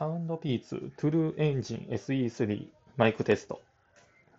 サウンドピーツトゥルーエンジン SE3 マイクテスト